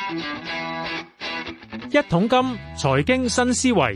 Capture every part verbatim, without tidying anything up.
一桶金財經新思維。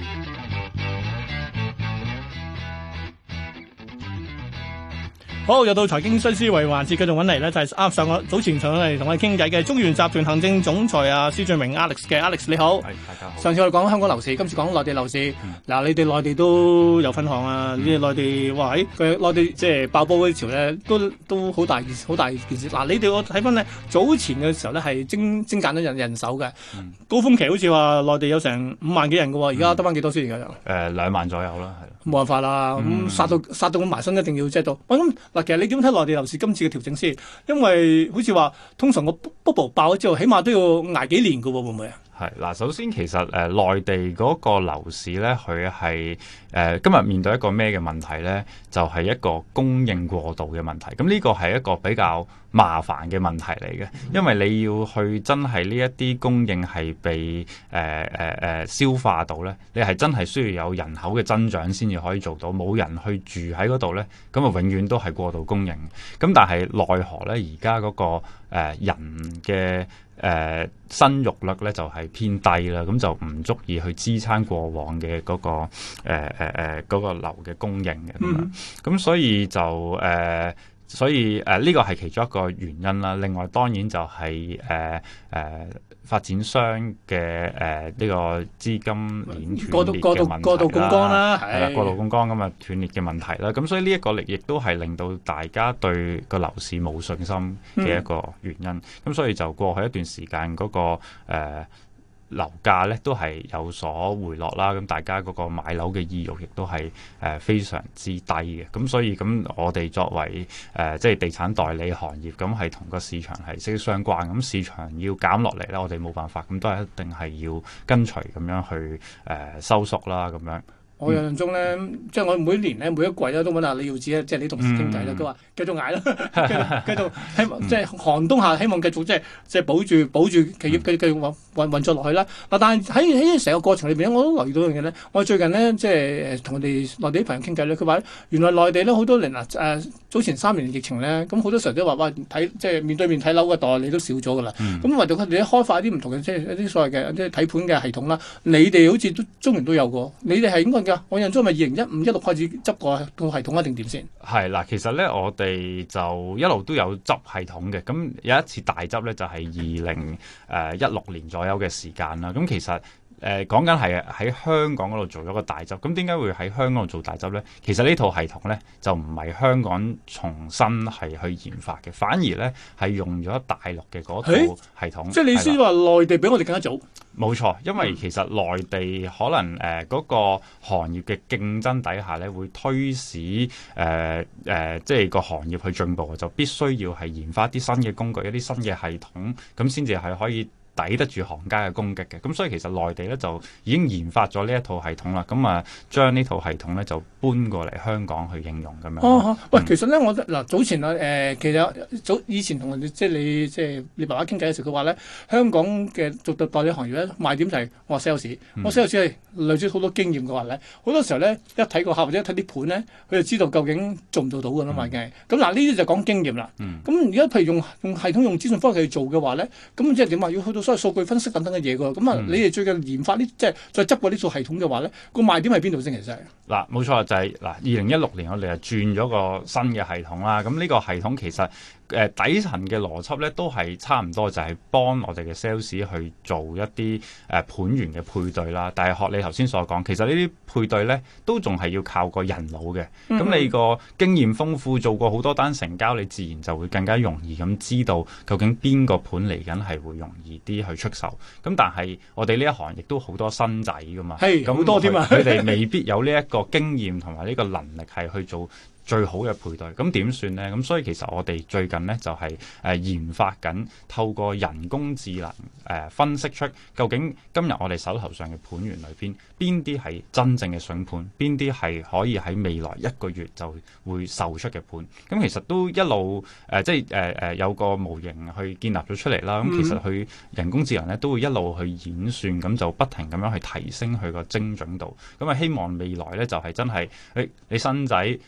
好，又到財經新思維環節，繼續揾嚟咧，就係啱上個早前上嚟同我哋傾偈嘅中原集團行政總裁啊施俊榮 Alex 嘅 Alex 你好。 係，大家好。 上次我哋講香港樓市，今次講內地樓市。嗱、嗯，你哋內地都有分行啊？你哋內地哇喺佢內地即係爆煲嗰啲潮咧，都都好大件好大件事。嗱，你哋我睇翻咧早前嘅時候咧係精精簡咗人人手嘅，嗯、高峰期好似話內地有成五萬幾人嘅喎，而家得翻幾多先而家就？誒、 呃、兩萬左右啦，係。 冇辦法啦，咁、嗯、殺到殺到咁埋身，一定要即係到。我諗嗱，其實你點睇內地樓市今次嘅調整先？因為好似話通常個 bubble 爆咗之後，起碼都要捱幾年㗎喎，會唔會啊？ 係嗱，首先其實誒、呃、內地嗰個樓市咧，佢係誒今日面對一個咩嘅問題咧？就係、是、一個供應過度嘅問題。咁呢個係一個比較麻煩嘅問題嚟嘅，因為你要去真係呢一啲供應係被誒誒誒消化到咧，你係真係需要有人口嘅增長先至可以做到。冇人去住喺嗰度咧，咁啊永遠都係過度供應。咁但係奈何咧，而家嗰個誒、呃、人嘅誒、呃、生育率咧就係、是、偏低啦，咁就唔足以去支撐過往嘅嗰、那個誒誒誒嗰個樓嘅供應嘅咁樣，咁、嗯、所以就誒。呃所以誒呢個係其中一個原因啦。另外當然就係誒誒發展商嘅誒呢個資金鏈斷裂嘅問題啦，過度過度過度槓桿啦， 係啦，過度槓桿咁啊斷裂嘅問題啦。咁所以呢一個力亦都係令到大家對個樓市冇信心嘅一個原因。咁、嗯、所以就過去一段時間嗰、那個誒。呃樓價咧都係有所回落啦，咁大家嗰個買樓嘅意欲亦都係誒、呃、非常之低嘅，咁所以咁我哋作為誒、呃、即係地產代理行業，咁係同個市場係息息相關，咁市場要減落嚟咧，我哋冇辦法，咁都係一定係要跟隨咁樣去誒、呃、收縮啦，咁樣。 我印象中咧，嗯、即係我每年咧每一季咧都揾阿李耀智咧，即係你同事傾偈啦。佢話、嗯、繼續捱啦，繼續繼續希望即係寒冬下希望繼續即係即係保住保住企業繼續繼續運運運作落去啦。嗱，但係喺喺成個過程裏邊我都留意到一樣嘢咧。我最近咧即係同我哋內地啲朋友傾偈咧，佢話原來內地咧好多年嗱誒早前三年疫情咧，咁好多時候都話哇睇即係面對面睇樓嘅代理都少咗㗎啦。咁唯獨佢哋開發一啲唔同嘅即係一啲所謂嘅即係睇盤嘅系統啦。你哋好似都中原都有個，你哋係應該㗎。我印象中係咪二零一五一六開始執個個系統一定點先？係嗱，其實咧我哋就一路都有執系統嘅。咁有一次大執咧就係二零誒一六年左右嘅時間啦。咁其實誒講緊係喺香港嗰度做咗個大執。咁點解會喺香港度做大執咧？其實呢套系統咧就唔係香港重新係去研發嘅，反而咧係用咗大陸嘅嗰套系統。 即係你意思話內地比我哋更加早？ 冇錯，因為其實內地可能誒嗰、呃那個行業嘅競爭底下咧，會推使誒誒、呃呃，即係個行業去進步，就必須要係研發啲新嘅工具、一啲新嘅系統，咁先至係可以抵得住行家嘅攻擊嘅。咁所以其實內地咧就已經研發咗呢一套系統啦。咁啊，將呢套系統咧就搬過嚟香港去應用咁樣。 哦，嗯、喂，其實咧，我嗱早前啊，誒、呃，其實早以前同你即係你即係你爸爸傾偈嘅時候，佢話咧，香港嘅做代理行業咧賣點就係我 sales，我 sales 係累積好多經驗嘅話咧，好多時候咧一睇個客或者一睇啲盤咧，佢就知道究竟做唔做到㗎啦嘛，已經。咁嗱呢啲就講經驗啦。咁而家譬如用用系統用資訊科技去做嘅話咧，咁即係點啊？要去到所謂數據分析等等嘅嘢㗎。咁啊，嗯、你哋最近研發呢即係再執過呢套系統嘅話咧，個賣點係邊度先？其實係嗱，冇錯就係、是、嗱，二零一六年我哋就轉咗個新嘅系統啦。咁呢個系統其實誒、呃、底層嘅邏輯咧都係差唔多，就係、是、幫我哋嘅 sales 去做一啲誒、呃、盤源嘅配對啦。但係學你頭先所講，其實呢啲配對咧都仲係要靠個人腦嘅。咁、嗯、你個經驗豐富，做過好多單成交，你自然就會更加容易咁知道究竟邊個盤嚟緊係會容易啲去出售。咁但係我哋呢一行亦都好多新仔噶嘛，咁好多添啊，佢哋未必有呢一個經驗同埋呢個能力係去做最好嘅配對，咁點算呢？咁所以其實我哋最近呢，就係、是、誒、呃、研發緊，透過人工智能誒、呃、分析出究竟今日我哋手頭上嘅盤源裏邊邊啲係真正嘅筍盤，邊啲係可以喺未來一個月就會售出嘅盤。咁其實都一路誒、呃、即係誒誒有個模型去建立咗出嚟啦。咁其實佢人工智能咧都會一路去演算，咁就不停咁樣去提升佢個精準度。咁啊希望未來咧就係、是、真係誒、欸、你新仔誒、呃、你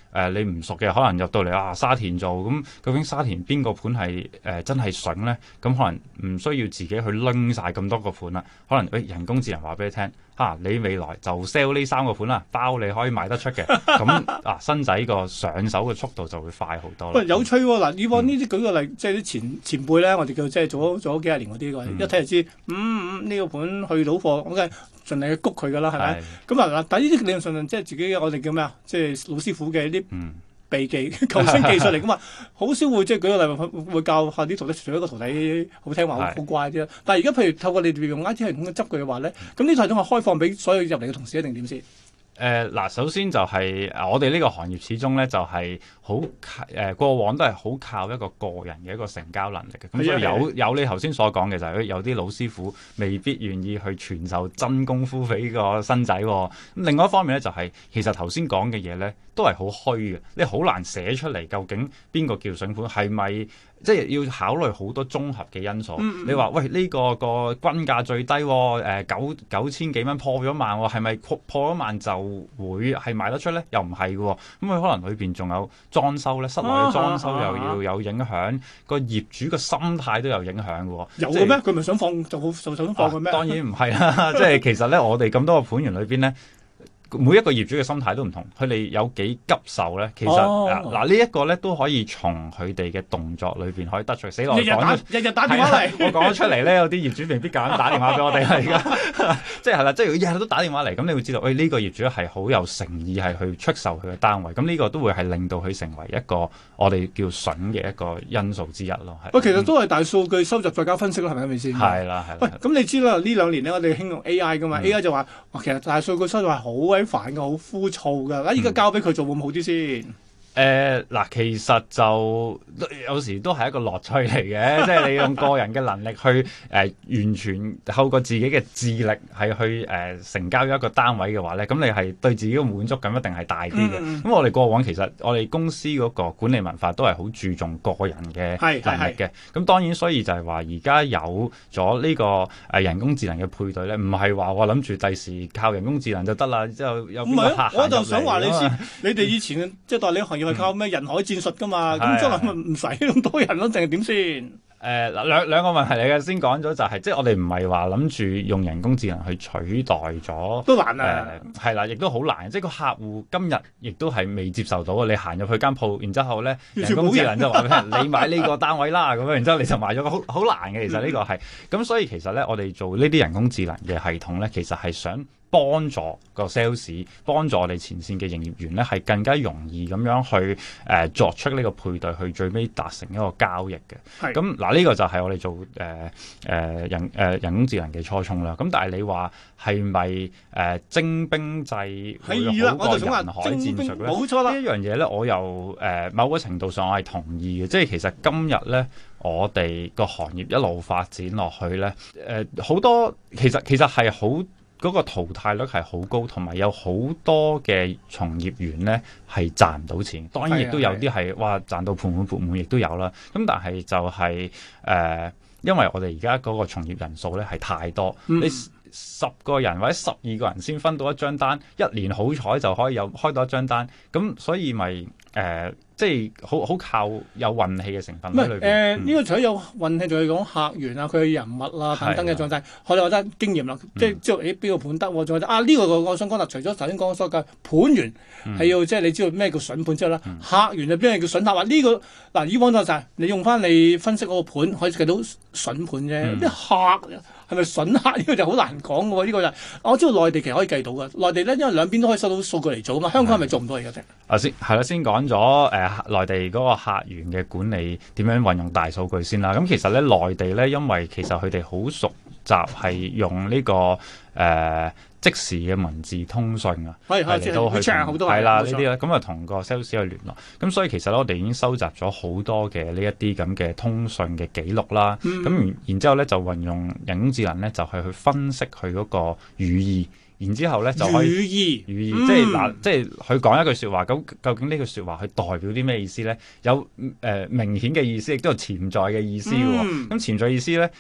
唔熟嘅，可能入到嚟啊沙田做，咁究竟沙田邊個盤係誒真係筍咧？咁可能唔需要自己去拎晒咁多個盤啦，可能誒、哎、人工智能話俾你聽。嚇、啊！你未來就 sell 呢三個盤啦，包你可以賣得出嘅。咁啊，新仔個上手嘅速度就會快好多啦。 喂，有趣喎！嗱，以往呢啲舉個例，即係啲前前輩咧，我哋叫即係做咗做咗幾廿年嗰啲，嗯、一睇就知，嗯嗯，呢、這個盤去到貨，我梗係盡力去谷佢噶啦，係咪？咁啊嗱，但係呢啲理論上即係自己我哋叫咩啊？即係老師傅嘅啲。嗯秘技求生技術嚟噶嘛，好少會即係舉個例會會教下啲徒弟，除咗一個徒弟好聽話好好乖啲啦。但係而家譬如透過你哋用 I T 系統去執佢嘅話咧，咁呢套系統係開放俾所有入嚟嘅同事一定點先？ 誒嗱、呃，首先就係、是、我哋呢個行業始終咧就係好誒過往都係好靠一個個人嘅一個成交能力嘅，咁所以有有你頭先所講嘅就係有啲老師傅未必願意去傳授真功夫俾個新仔、哦。咁另外一方面咧就係、是、其實頭先講嘅嘢咧都係好虛嘅，你好難寫出嚟究竟邊個叫筍盤係咪？即係要考慮好多綜合嘅因素。嗯嗯你話喂呢、這個個均價最低、哦，誒、呃、九九千幾蚊破咗萬、哦，係咪破咗萬就會係賣得出咧？又唔係嘅，咁、嗯、佢可能裏邊仲有裝修咧，室內嘅裝修又要有影響，個、啊啊、業主嘅心態都有影響嘅。 有嘅咩？佢咪想放就好就想放嘅咩？ 當然唔係啦，即係其實咧，我哋咁多個盤源裏邊咧。每一個業主嘅心態都唔同，佢哋有幾急售咧？其實嗱嗱呢一個咧都可以從佢哋嘅動作裏邊可以得出。死落日日打日日打電話嚟， 我講咗出嚟咧，有啲業主未必敢打電話俾我哋啦。而家即係係啦，即係日日都打電話嚟，咁你會知道，喂、哎、呢、呢個業主係好有誠意係去出售佢嘅單位，咁呢個都會係令到佢成為一個我哋叫筍嘅一個因素之一咯。係。 喂，其實都係大數據收集再加分析咯，係咪咁意思？ 係啦，係。 喂，咁你知啦，呢兩年咧我哋興用 A I 噶嘛、嗯、，A I 就話其實大數據收集係好鬼煩嘅，好枯燥噶，嗱依家交俾佢做會唔會好啲先？ 誒嗱、呃，其實就有時都係一個樂趣嚟嘅，即係你用個人嘅能力去誒、呃、完全透過自己嘅智力係去誒、呃、成交一個單位嘅話咧，咁你係對自己嘅滿足感一定係大啲嘅。咁、嗯嗯、我哋過往其實我哋公司嗰個管理文化都係好注重個人嘅能力嘅。咁當然，所以就係話而家有咗呢個誒人工智能嘅配對咧，唔係話我諗住第時靠人工智能就得啦，之後有邊個客行入嚟？我就想話你先，你哋以前即係代理行業。係靠咩人海戰術噶嘛？咁將來咪唔使咁多人咯，定係點先？誒嗱兩兩個問題嚟嘅，先講咗就係、是，即係我哋唔係話諗住用人工智能去取代咗， 都難啊！ 係啦、呃，亦都好難。即係個客戶今日亦都係未接受到啊！你行入去間鋪，然之後咧人工智能就話俾你聽，你買呢個單位啦，咁樣，然之後你就買咗，好好難嘅。其實呢個係咁，嗯、所以其實咧，我哋做呢啲人工智能嘅系統咧，其實係想幫助個 sales， 幫助我哋前線嘅營業員咧，係更加容易咁樣去誒、呃、作出呢個配對，去最尾達成一個交易嘅。咁嗱是，呢、這個就係我哋做誒誒、呃、人誒、呃、人工智能嘅初衷啦。咁但係你話係咪誒精兵制會好過人海戰術咧？ 冇錯啦， 呢一樣嘢咧，我又誒、呃、某個程度上我係同意嘅。即係其實今日咧，我哋個行業一路發展落去咧，誒、呃、好多其實其實係好。嗰個淘汰率係好高，同埋有好多嘅從業員咧係賺唔到錢。當然亦都有啲係哇賺到盆滿缽滿，亦都有啦。咁但係就係、是、誒、呃，因為我哋而家嗰個從業人數咧係太多，嗯、你十個人或者十二個人先分到一張單，一年好彩就可以有開到一張單。咁所以咪誒。呃即係好好靠有運氣嘅成分喺裏邊。誒，呢、呃嗯、 個除咗有運氣，仲要講客源啊，佢嘅人物啦、啊、等等嘅狀態。我哋覺得經驗啦，即係知道誒邊個盤得，仲有啊呢、這個我想講啦。除咗頭先講所謂盤源係要、嗯、即係你知道咩叫筍盤之後啦，嗯、客源就邊係叫筍客話呢、這個嗱以往就係你用翻你分析嗰個盤可以計到筍盤啫，啲、嗯、客。係咪筍客呢個就好難講嘅喎？呢、這個就係、我知道內地其實可以計到嘅。內地咧，因為兩邊都可以收到數據嚟做啊嘛。香港係咪做唔到而家啫？ 啊先係啦，先講咗誒內地嗰個客源嘅管理點樣運用大數據先啦。咁、嗯、其實咧內地咧，因為其實佢哋好熟習係用呢、這個誒。呃即時嘅文字通訊啊，係嚟到去係啦呢啲咧，咁啊同個 sales 去聯絡，咁所以其實咧我哋已經收集咗好多嘅呢一啲咁嘅通訊嘅記錄啦，咁、嗯、然之後咧就運用人工智能咧就係去分析佢嗰個語義，然之後咧就可以語義語義，嗯、即係嗱，即係佢講一句説話，咁究竟呢句説話佢代表啲咩意思咧？有誒、呃、明顯嘅意思，亦都有潛在嘅意思嘅喎，咁、嗯、潛在意思咧。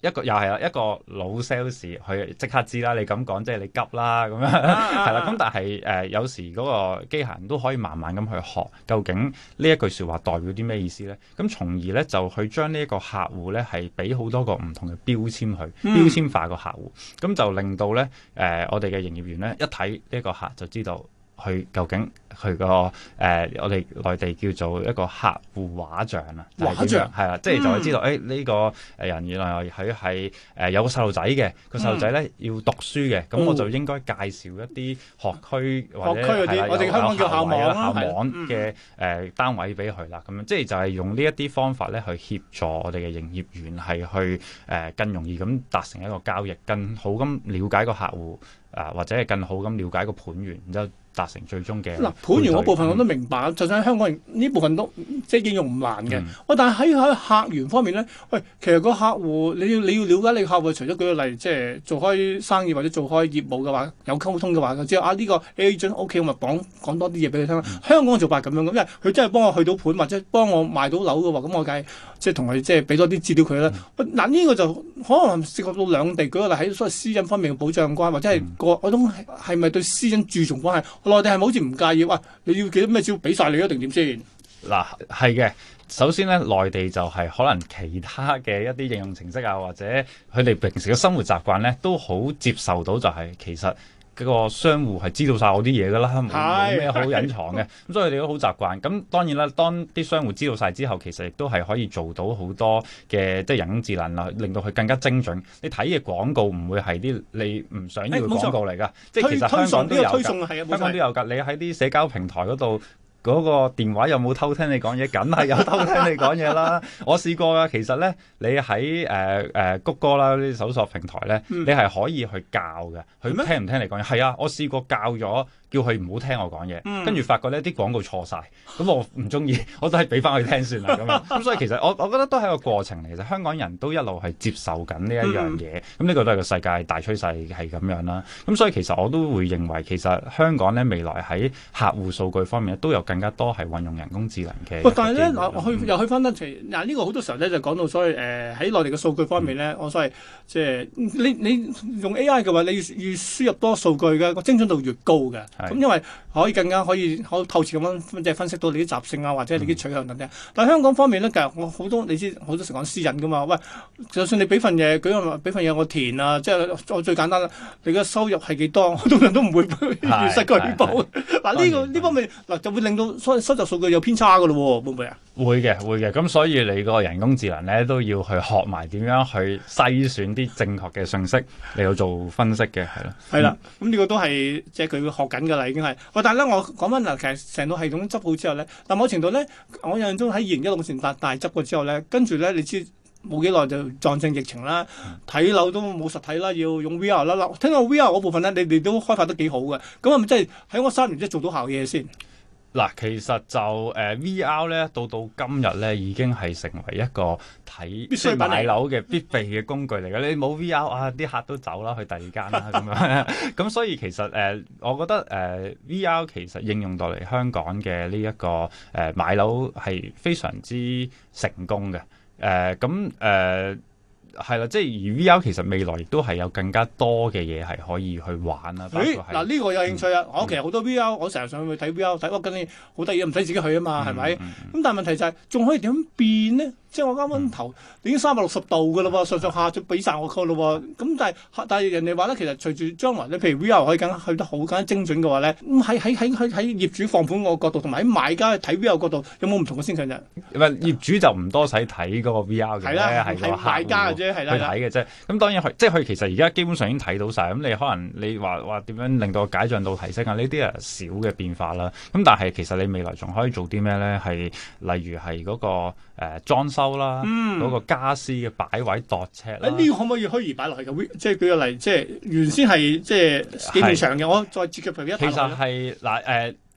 一個又係啦，一個老 sales 佢即刻知啦，你咁講即係你急啦咁樣，係啦。咁但係誒、呃、有時嗰個機械人都可以慢慢咁去學，究竟呢一句説話代表啲咩意思咧？咁從而咧就去將呢一個客戶咧係俾好多個唔同嘅標籤去、嗯、標籤化個客戶，咁就令到咧誒、呃、我哋嘅營業員咧一睇呢個客就知道。佢究竟佢個誒我哋內地叫做一個客戶畫像啊， 畫像係啦，即係就會知道誒呢、嗯哎這個誒人原來佢係誒有個細路仔嘅，個細路仔咧要讀書嘅，咁、嗯、我就應該介紹一啲學區或者係啦，我哋香港叫校網啦，校網嘅誒單位俾佢啦，咁樣即係就係用呢一啲方法咧去協助我哋嘅營業員係去誒、呃、更容易咁達成一個交易，更好咁了解個客戶啊、呃，或者係更好咁了解個盤源，然之後達成最終嘅嗱盤源嗰部分我都明白，嗯、就算喺香港人呢部分都即係應用唔難嘅。喂、嗯，但係喺喺客源方面咧，喂，其實個客戶你要你要了解你客戶，除咗舉個例，即係做開生意或者做開業務嘅話，有溝通嘅話，就知道啊呢、呢個 agent OK，我咪講講多啲嘢俾佢聽。嗯、香港做法咁樣咁，因為佢真係幫我去到盤或者幫我賣到樓嘅話，咁我梗係即係同佢即係俾多啲資料佢啦。嗱、嗯、呢、啊呢個就可能涉及到兩地，舉個例喺所謂私隱方面嘅保障關，或者係個嗰種係咪對私隱注重關係？內地係咪好似唔介意？哇！你要幾多咩招俾晒你一定點先？ 嗱，係嘅。首先咧，內地就係可能其他嘅一啲應用程式啊，或者佢哋平時嘅生活習慣咧，都好接受到就係其實嗰個商戶係知道晒我啲嘢噶啦，冇冇咩好隱藏嘅。咁所以佢哋都好習慣。咁當然啦，當啲商戶知道晒之後，其實亦都係可以做到好多嘅即係人工智能啦，令到佢更加精準。你睇嘅廣告唔會係啲你唔想要嘅廣告嚟㗎，即係其實香港都有㗎，香港都有㗎。你喺啲社交平台嗰度。嗰個電話有冇偷聽你講嘢？梗係有偷聽你講嘢啦！我試過㗎，其實咧，你喺誒誒谷歌啦呢啲搜索平台咧，嗯、你係可以去教嘅，佢聽唔聽你講嘢？係啊，我試過教咗。叫佢唔好聽我講嘢，跟住、嗯、發覺呢啲廣告錯晒，咁我唔中意，我都係俾翻佢聽算啦咁樣。咁所以其實我我覺得都係一個過程嚟，其實香港人都一路係接受緊呢一樣嘢，咁呢、嗯、個都係個世界大趨勢係咁樣啦。咁所以其實我都會認為，其實香港咧未來喺客戶數據方面都有更加多係運用人工智能嘅。 喂，但係咧嗱，去又去翻得嗱呢個好多時候咧就講到所謂誒喺內地嘅數據方面咧，嗯、我所謂即係你你用 A I 嘅話，你要要輸入多數據嘅個精準度越高嘅，咁是因為可以更加可以好透徹咁樣即係分析到你啲習性啊，或者你啲取向等等。嗯、但係香港方面咧，其實我好多你知好多時講私隱噶嘛。喂，就算你俾份嘢，舉個俾份嘢我填啊，即係我最簡單啦。你嘅收入係幾多？我通常都唔會如實舉報。嗱呢、呢個呢方面嗱就會令到所收集數據有偏差噶咯喎，會唔會啊？ 會嘅，會嘅。咁所以你個人工智能咧都要去學埋點樣去篩選啲正確嘅信息嚟到做分析嘅，係咯。係啦， 咁呢個都係即係佢學緊㗎啦，已經係。喂，但係咧，我講翻嗱，其實成套系統執好之後咧，但某程度咧，我印象中喺二零一六年大大執過之後咧，跟住咧，你知冇幾耐就撞正疫情啦，睇樓都冇實體啦，要用 V R 啦。嗱，聽到 V R 嗰部分咧，你哋都開發得幾好嘅，咁係咪即係喺我三年即係做到效嘢先？ 嗱，其實就誒、呃、V R 咧，到到今日咧，已經係成為一個睇即係買樓嘅必備嘅工具嚟嘅。你冇 V R 啊，啲客都走啦，去第二間啦咁樣。咁所以其實誒、呃，我覺得誒、呃、V R 其實應用到嚟香港嘅呢一個誒、呃、買樓係非常之成功嘅。誒咁誒。係啦，即係而 V R 其實未來亦都係有更加多嘅嘢係可以去玩啦。 誒嗱呢個有興趣啊！嗯、我其實好多 V R，我成日上去睇 V R 睇，我跟住好得意，唔使自己去啊嘛，係咪？咁、嗯嗯、但係問題就係、是、仲可以點變呢？即係我啱啱頭已經三百六十度㗎啦喎，上上下就俾晒我個咯喎。咁但係但係人哋話咧，其實隨住將來咧，譬如 V R 可以更去得好更加精準嘅話咧，咁喺喺喺喺喺業主放盤個角度，同埋喺買家睇 V R 角度，有冇唔同嘅先向啫？ 唔係業主就唔多使睇嗰個 V R 嘅，係啦，係個買家嘅啫，係啦， 去睇嘅啫。咁當然即係佢其實而家基本上已經睇到晒。咁你可能你話話點樣令到解像度提升啊？呢啲係小嘅變化啦。咁但係其實你未來仲可以做啲咩咧？係例如係嗰、嗰個誒、呃、裝修啦。嗯嗰個傢俬嘅擺位度尺啦，呢個可唔可以虛擬擺落去嘅？即係舉個例，即係原先係即係幾面牆嘅，我再設計譬如一。其實係嗱誒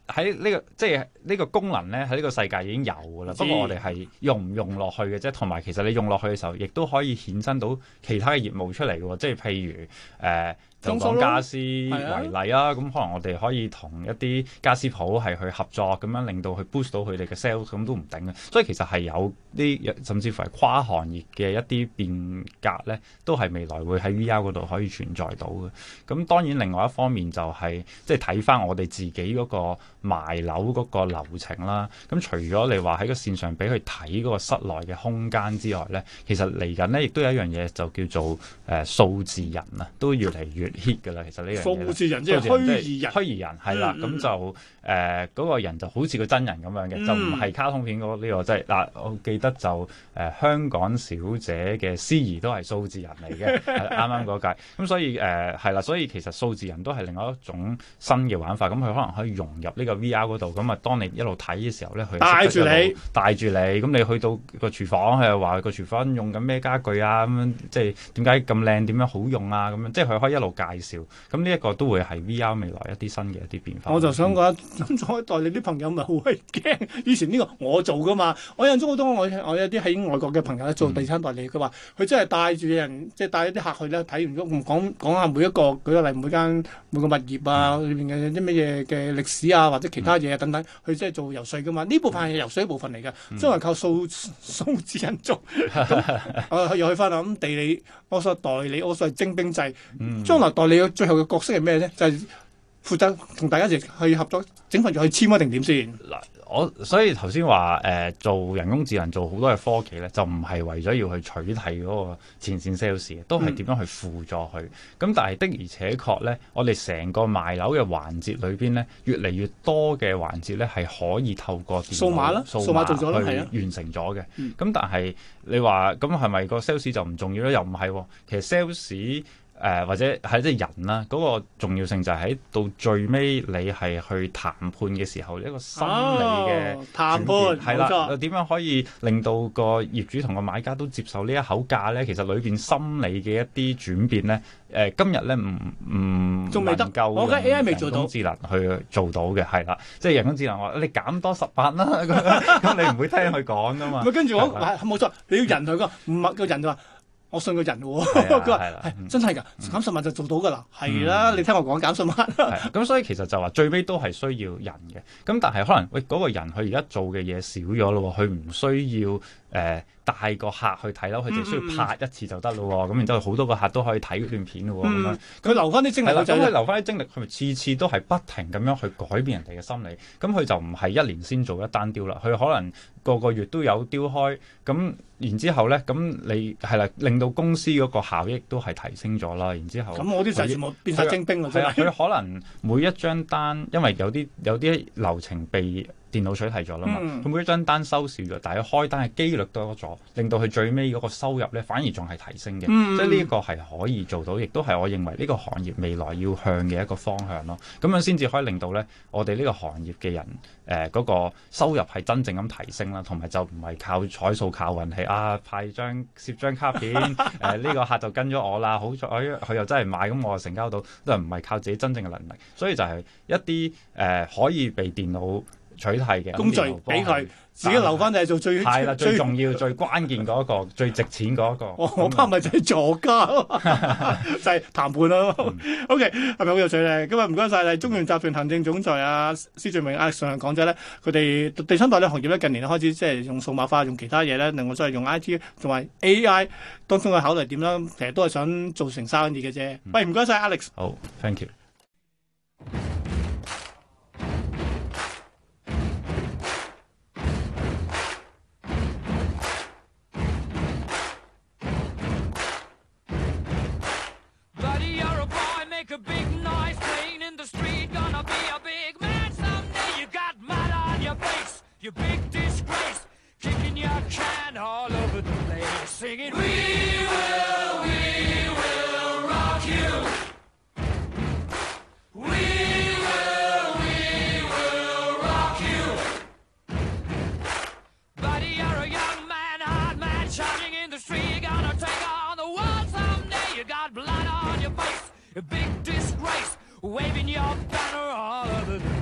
喺呢個即係呢個功能咧，喺呢個世界已經有㗎啦。不過我哋係用唔用落去嘅啫，同埋其實你用落去嘅時候，亦都可以衍生到其他嘅業務出嚟嘅喎。即係譬如誒。呃就講家私為例啊，咁可能我哋可以同一啲家私鋪係去合作，咁樣令到去 boost 到佢哋嘅 sales， 咁都唔定嘅。所以其實係有啲甚至乎係跨行業嘅一啲變革咧，都係未來會喺 V R 嗰度可以存在到嘅。咁當然另外一方面就係即係睇翻我哋自己嗰個賣樓嗰個流程啦。咁除咗你話喺個線上俾佢睇嗰個室內嘅空間之外咧，其實嚟緊咧亦都有一樣嘢就叫做誒數字人啊，都越嚟越hit 㗎啦，其實呢樣嘢數字人即係虛擬人， 虛擬人係啦，咁、嗯、就誒嗰、呃那個人就好似個真人咁樣嘅，嗯、就唔係卡通片嗰、這、呢個即係嗱，我記得就誒、呃、香港小姐嘅司儀都係數字人嚟嘅，啱啱嗰屆，咁所以誒係啦，所以其實數字人都係另外一種新嘅玩法，咁佢可能可以融入呢個 V R 嗰度，咁啊當你一路睇嘅時候咧，佢帶住你，帶住你，咁你去到個廚房，佢又話個廚房用緊咩家具啊，咁樣即係點解咁靚，點樣好用啊，咁樣即係佢可以一路介紹。咁呢一個都會係 V R 未來一啲新嘅一啲變化。 我就想講，咁再代理啲朋友咪好鬼驚。以前呢個我做噶嘛，我印象中好多我我有啲喺外國嘅朋友咧做地產代理，佢話佢真係帶住人，即係帶一啲客去咧睇完咗，講講下每一個舉個例，每間每個物業啊，裏邊嘅啲乜嘢嘅歷史啊，或者其他嘢啊等等，佢即係做游説噶嘛。呢部分係游説一部分嚟嘅，將來靠數數字人做。咁我又去翻啦。咁地理我所代理，我所謂徵兵制，將來代理嘅最後嘅角色係咩咧？就係、是、負責同大家一齊去合作，整份就去簽一定點先？ 嗱，我所以頭先話誒做人工智能做好多嘅科技咧，就唔係為咗要去取締嗰個前線 sales，都係點樣去輔助佢。咁、嗯、但係的而且確咧，我哋成個賣樓嘅環節裏邊咧，越嚟越多嘅環節咧係可以透過電腦數碼啦，數碼做咗啦，係啊， 完成咗嘅。咁、 嗯、 但係你話咁係咪個 sales 就唔重要咧？又唔係喎，其實 sales誒、呃、或者係即係人啦，嗰、那個重要性就係喺到最尾你係去談判嘅時候，一個心理嘅、哦、 談判係啦，點樣可以令到個業主同個買家都接受呢一口價咧？其實裏邊心理嘅一啲轉變咧，誒、呃、今日咧唔唔仲未得夠，我覺得 A I 未做到人工智能去做到嘅係啦，即係人工智能話你減多十八啦，咁你唔會聽佢講噶嘛？ 跟住我冇錯，你要人去個唔係個人就話。我信個人喎，佢話係真係㗎，減十萬就做到㗎啦，係啦，你聽我講減十萬。 咁所以其實就話最尾都係需要人嘅，咁但係可能喂嗰、那個人佢而家做嘅嘢少咗咯，佢唔需要誒、呃、帶個客去睇樓，佢淨係需要拍一次就得咯，咁、嗯、然之後好多個客都可以睇嗰段片咯，咁、嗯、樣佢留翻啲精力， 咁佢留翻啲精力，佢咪次次都係不停咁樣去改變人哋嘅心理，咁佢就唔係一年先做一單雕啦，佢可能個個月都有雕開，咁然之後咧，咁你係啦，令到公司嗰個效益都係提升咗啦。然之後， 咁我啲就全部變晒精兵啦。 係啊，佢可能每一張單，因為有啲有啲流程被電腦取締咗啦嘛，佢、嗯、每一張單收少咗，但係開單嘅機率多咗，令到佢最尾嗰個收入咧反而仲係提升嘅。嗯、即係呢一個係可以做到，亦都係我認為呢個行業未來要向嘅一個方向咯。咁樣先至可以令到咧我哋呢個行業嘅人誒嗰、呃嗰個收入係真正咁提升啦，同埋就唔係靠彩數靠運氣啊，派張攝張卡片誒呢、呃呢個客就跟咗我啦，好彩佢又真係買，咁我就成交到，都係唔係靠自己真正嘅能力，所以就係一啲誒、呃、可以被電腦取締嘅工序俾佢自己留翻，就係做最係啦，最重要、最關鍵嗰一個、最值錢嗰一個。 我我怕咪就係助家咯，就係談判咯。O K，係咪好有趣咧？今日唔該晒，係中原集團行政總裁啊施俊榮啊上嚟講咗咧，佢哋地產代理行業咧近年開始即係用數碼化、用其他嘢咧，另外所謂用 I T 同埋 A I 當中嘅考慮點啦，其實都係想做成生意嘅啫。喂，唔該晒 Alex。 好 ，thank you。 You big disgrace, kicking your can all over the place, singing, We will, we will rock you. We will, we will rock you. Buddy, you're a young man, hard man, shouting in the street. You're gonna take on the world someday. You got blood on your face, a big disgrace, waving your banner all over the place.